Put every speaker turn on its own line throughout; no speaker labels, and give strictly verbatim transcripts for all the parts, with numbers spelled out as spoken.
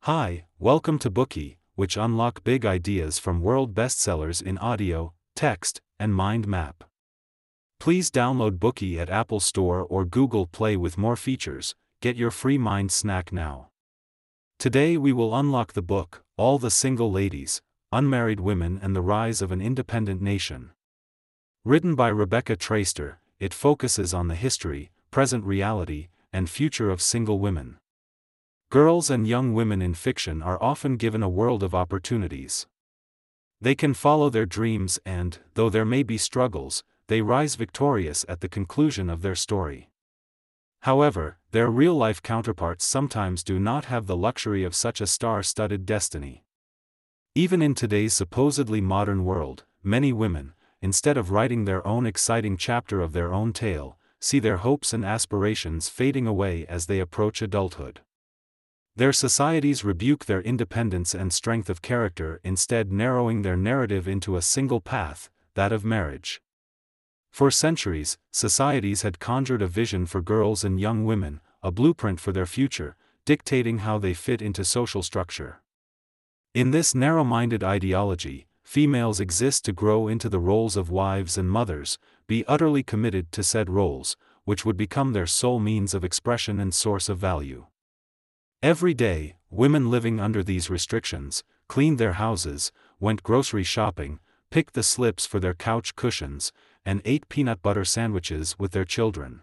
Hi, welcome to Bookie, which unlock big ideas from world bestsellers in audio, text, and mind map. Please download Bookie at Apple Store or Google Play with more features. Get your free mind snack now. Today we will unlock the book, All the Single Ladies, Unmarried Women and the Rise of an Independent Nation. Written by Rebecca Traister, it focuses on the history, present reality, and future of single women. Girls and young women in fiction are often given a world of opportunities. They can follow their dreams and, though there may be struggles, they rise victorious at the conclusion of their story. However, their real-life counterparts sometimes do not have the luxury of such a star-studded destiny. Even in today's supposedly modern world, many women, instead of writing their own exciting chapter of their own tale, see their hopes and aspirations fading away as they approach adulthood. Their societies rebuke their independence and strength of character, instead narrowing their narrative into a single path, that of marriage. For centuries, societies had conjured a vision for girls and young women, a blueprint for their future, dictating how they fit into social structure. In this narrow-minded ideology, females exist to grow into the roles of wives and mothers, be utterly committed to said roles, which would become their sole means of expression and source of value. Every day, women living under these restrictions, cleaned their houses, went grocery shopping, picked the slips for their couch cushions, and ate peanut butter sandwiches with their children.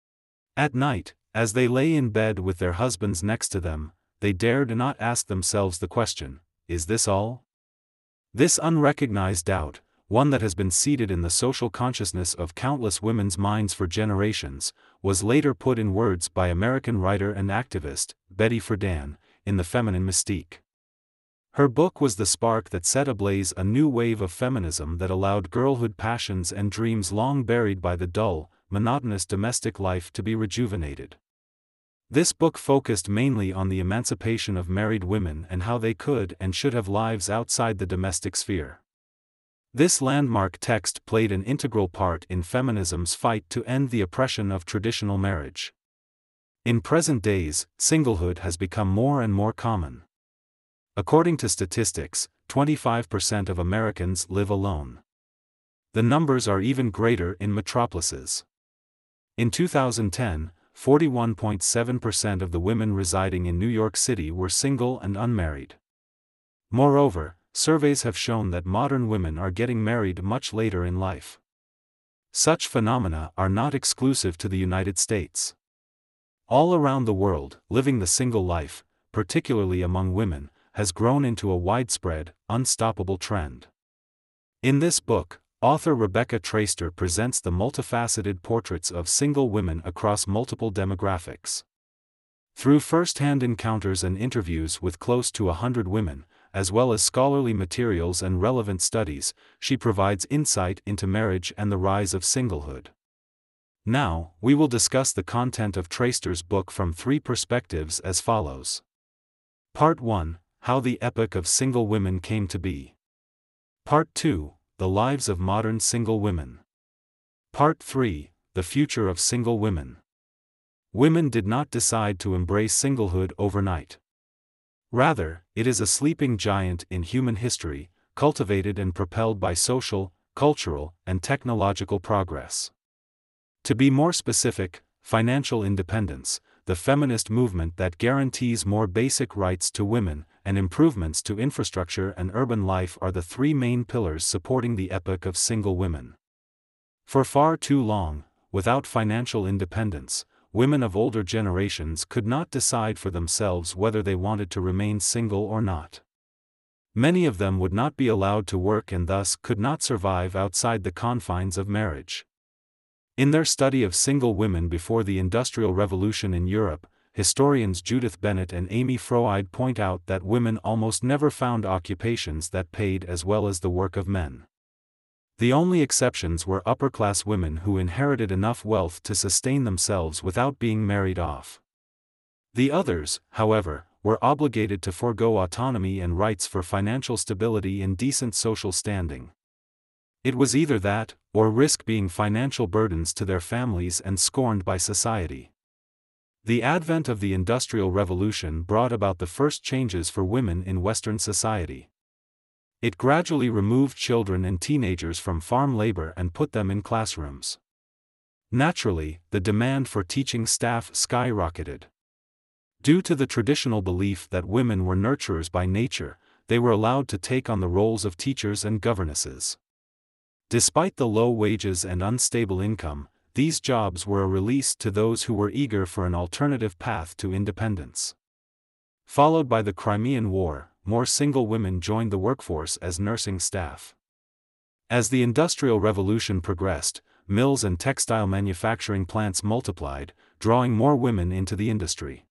At night, as they lay in bed with their husbands next to them, they dared not ask themselves the question, is this all? This unrecognized doubt, one that has been seated in the social consciousness of countless women's minds for generations, was later put in words by American writer and activist, Betty Friedan, in The Feminine Mystique. Her book was the spark that set ablaze a new wave of feminism that allowed girlhood passions and dreams long buried by the dull, monotonous domestic life to be rejuvenated. This book focused mainly on the emancipation of married women and how they could and should have lives outside the domestic sphere. This landmark text played an integral part in feminism's fight to end the oppression of traditional marriage. In present days, singlehood has become more and more common. According to statistics, twenty-five percent of Americans live alone. The numbers are even greater in metropolises. In two thousand ten, forty-one point seven percent of the women residing in New York City were single and unmarried. Moreover, surveys have shown that modern women are getting married much later in life. Such phenomena are not exclusive to the United States. All around the world, living the single life, particularly among women, has grown into a widespread, unstoppable trend. In this book, author Rebecca Traister presents the multifaceted portraits of single women across multiple demographics. Through first-hand encounters and interviews with close to a hundred women, as well as scholarly materials and relevant studies, she provides insight into marriage and the rise of singlehood. Now, we will discuss the content of Traister's book from three perspectives as follows. Part one, How the Epic of Single Women Came to Be. Part two, The Lives of Modern Single Women. Part three, The Future of Single Women. Women did not decide to embrace singlehood overnight. Rather, it is a sleeping giant in human history, cultivated and propelled by social, cultural, and technological progress. To be more specific, financial independence, the feminist movement that guarantees more basic rights to women, and improvements to infrastructure and urban life are the three main pillars supporting the epic of single women. For far too long, without financial independence, women of older generations could not decide for themselves whether they wanted to remain single or not. Many of them would not be allowed to work and thus could not survive outside the confines of marriage. In their study of single women before the Industrial Revolution in Europe, historians Judith Bennett and Amy Froide point out that women almost never found occupations that paid as well as the work of men. The only exceptions were upper-class women who inherited enough wealth to sustain themselves without being married off. The others, however, were obligated to forego autonomy and rights for financial stability and decent social standing. It was either that, or risk being financial burdens to their families and scorned by society. The advent of the Industrial Revolution brought about the first changes for women in Western society. It gradually removed children and teenagers from farm labor and put them in classrooms. Naturally, the demand for teaching staff skyrocketed. Due to the traditional belief that women were nurturers by nature, they were allowed to take on the roles of teachers and governesses. Despite the low wages and unstable income, these jobs were a release to those who were eager for an alternative path to independence. Followed by the Crimean War, more single women joined the workforce as nursing staff. As the Industrial Revolution progressed, mills and textile manufacturing plants multiplied, drawing more women into the industry.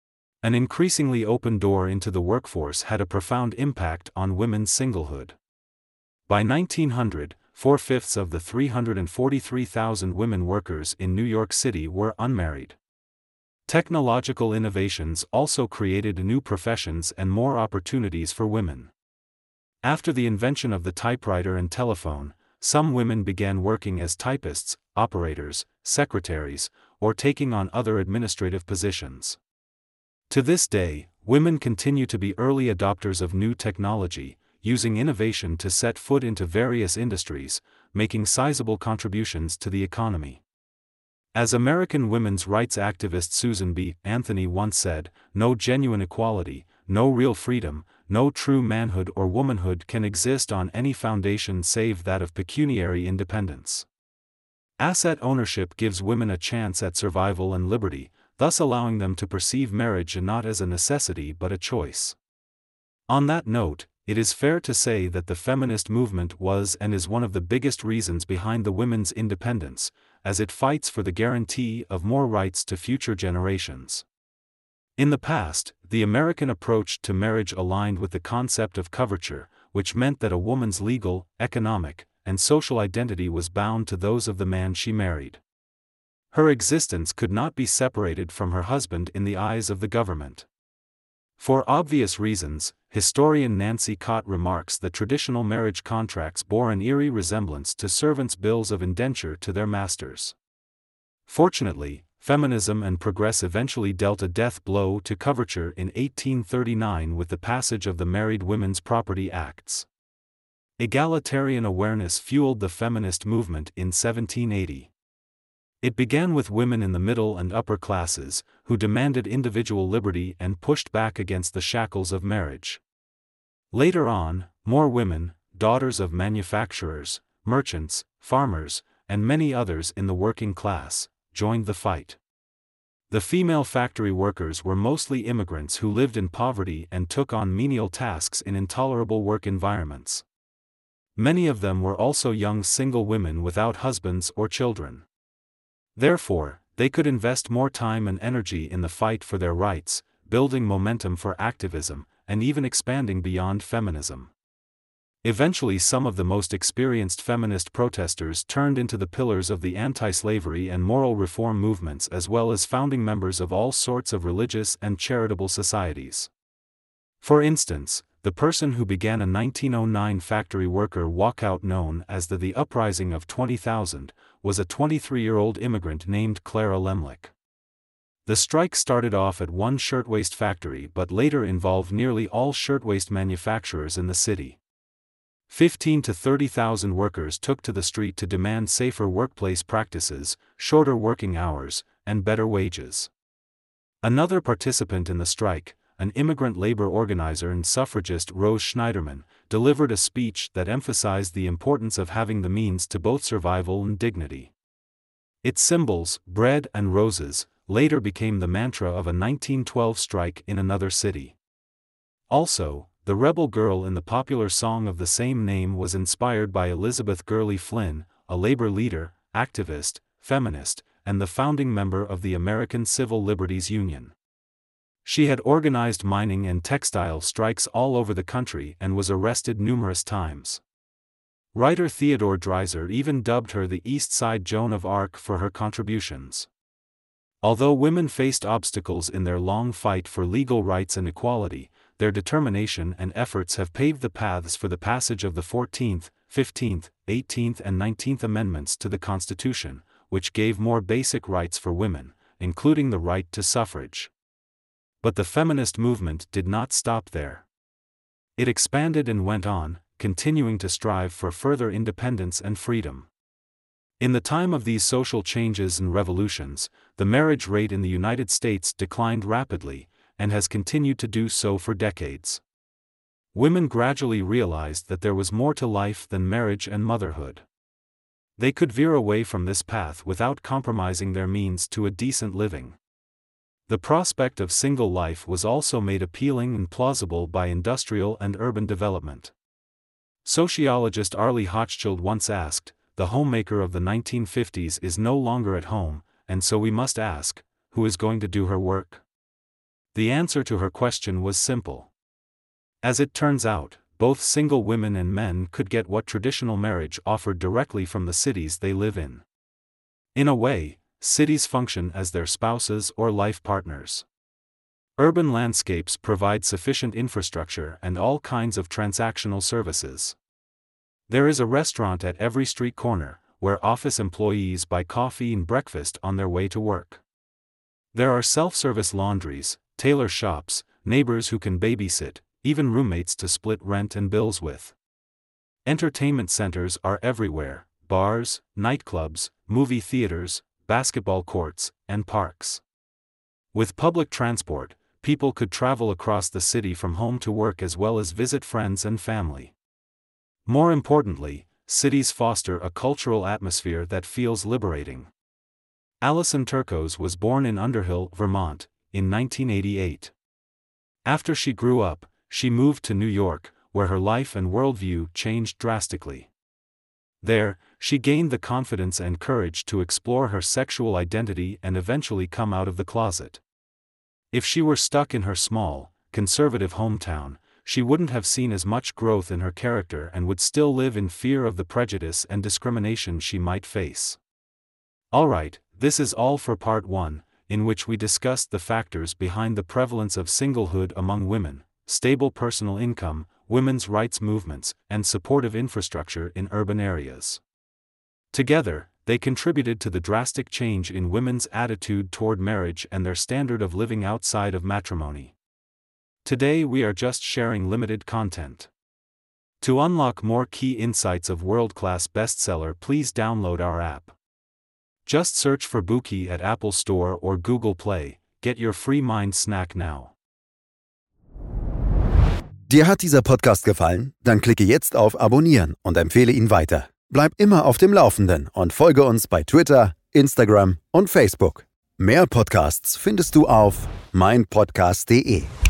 An increasingly open door into the workforce had a profound impact on women's singlehood. By nineteen hundred, four-fifths of the three hundred forty-three thousand women workers in New York City were unmarried. Technological innovations also created new professions and more opportunities for women. After the invention of the typewriter and telephone, some women began working as typists, operators, secretaries, or taking on other administrative positions. To this day, women continue to be early adopters of new technology, using innovation to set foot into various industries, making sizable contributions to the economy. As American women's rights activist Susan B. Anthony once said, "No genuine equality, no real freedom, no true manhood or womanhood can exist on any foundation save that of pecuniary independence." Asset ownership gives women a chance at survival and liberty, thus allowing them to perceive marriage not as a necessity but a choice. On that note, it is fair to say that the feminist movement was and is one of the biggest reasons behind the women's independence, as it fights for the guarantee of more rights to future generations. In the past, the American approach to marriage aligned with the concept of coverture, which meant that a woman's legal, economic, and social identity was bound to those of the man she married. Her existence could not be separated from her husband in the eyes of the government. For obvious reasons, historian Nancy Cott remarks that traditional marriage contracts bore an eerie resemblance to servants' bills of indenture to their masters. Fortunately, feminism and progress eventually dealt a death blow to coverture in eighteen thirty-nine with the passage of the Married Women's Property Acts. Egalitarian awareness fueled the feminist movement in seventeen eighty. It began with women in the middle and upper classes, who demanded individual liberty and pushed back against the shackles of marriage. Later on, more women, daughters of manufacturers, merchants, farmers, and many others in the working class, joined the fight. The female factory workers were mostly immigrants who lived in poverty and took on menial tasks in intolerable work environments. Many of them were also young single women without husbands or children. Therefore, they could invest more time and energy in the fight for their rights, building momentum for activism, and even expanding beyond feminism. Eventually, some of the most experienced feminist protesters turned into the pillars of the anti-slavery and moral reform movements, as well as founding members of all sorts of religious and charitable societies. For instance, the person who began a nineteen oh nine factory worker walkout known as the The Uprising of twenty thousand, was a twenty-three-year-old immigrant named Clara Lemlich. The strike started off at one shirtwaist factory but later involved nearly all shirtwaist manufacturers in the city. Fifteen to thirty thousand workers took to the street to demand safer workplace practices, shorter working hours, and better wages. Another participant in the strike, an immigrant labor organizer and suffragist Rose Schneiderman, delivered a speech that emphasized the importance of having the means to both survival and dignity. Its symbols, bread and roses, later became the mantra of a nineteen twelve strike in another city. Also, the rebel girl in the popular song of the same name was inspired by Elizabeth Gurley Flynn, a labor leader, activist, feminist, and the founding member of the American Civil Liberties Union. She had organized mining and textile strikes all over the country and was arrested numerous times. Writer Theodore Dreiser even dubbed her the East Side Joan of Arc for her contributions. Although women faced obstacles in their long fight for legal rights and equality, their determination and efforts have paved the paths for the passage of the fourteenth, fifteenth, eighteenth and nineteenth Amendments to the Constitution, which gave more basic rights for women, including the right to suffrage. But the feminist movement did not stop there. It expanded and went on, continuing to strive for further independence and freedom. In the time of these social changes and revolutions, the marriage rate in the United States declined rapidly, and has continued to do so for decades. Women gradually realized that there was more to life than marriage and motherhood. They could veer away from this path without compromising their means to a decent living. The prospect of single life was also made appealing and plausible by industrial and urban development. Sociologist Arlie Hochschild once asked, "The homemaker of the nineteen fifties is no longer at home, and so we must ask, who is going to do her work?" The answer to her question was simple. As it turns out, both single women and men could get what traditional marriage offered directly from the cities they live in. In a way, cities function as their spouses or life partners. Urban landscapes provide sufficient infrastructure and all kinds of transactional services. There is a restaurant at every street corner, where office employees buy coffee and breakfast on their way to work. There are self-service laundries, tailor shops, neighbors who can babysit, even roommates to split rent and bills with. Entertainment centers are everywhere: bars, nightclubs, movie theaters, basketball courts, and parks. With public transport, people could travel across the city from home to work as well as visit friends and family. More importantly, cities foster a cultural atmosphere that feels liberating. Alison Turcos was born in Underhill, Vermont, in nineteen eighty-eight. After she grew up, she moved to New York, where her life and worldview changed drastically. There, she gained the confidence and courage to explore her sexual identity and eventually come out of the closet. If she were stuck in her small, conservative hometown, she wouldn't have seen as much growth in her character and would still live in fear of the prejudice and discrimination she might face. Alright, this is all for part one, in which we discussed the factors behind the prevalence of singlehood among women, stable personal income, women's rights movements, and supportive infrastructure in urban areas. Together, they contributed to the drastic change in women's attitude toward marriage and their standard of living outside of matrimony. Today we are just sharing limited content. To unlock more key insights of world-class bestseller, please download our app. Just search for Bookey at Apple Store or Google Play. Get your free mind snack now.
Dir hat dieser Podcast gefallen? Dann klicke jetzt auf Abonnieren und empfehle ihn weiter. Bleib immer auf dem Laufenden und folge uns bei Twitter, Instagram und Facebook. Mehr Podcasts findest du auf mein podcast punkt de.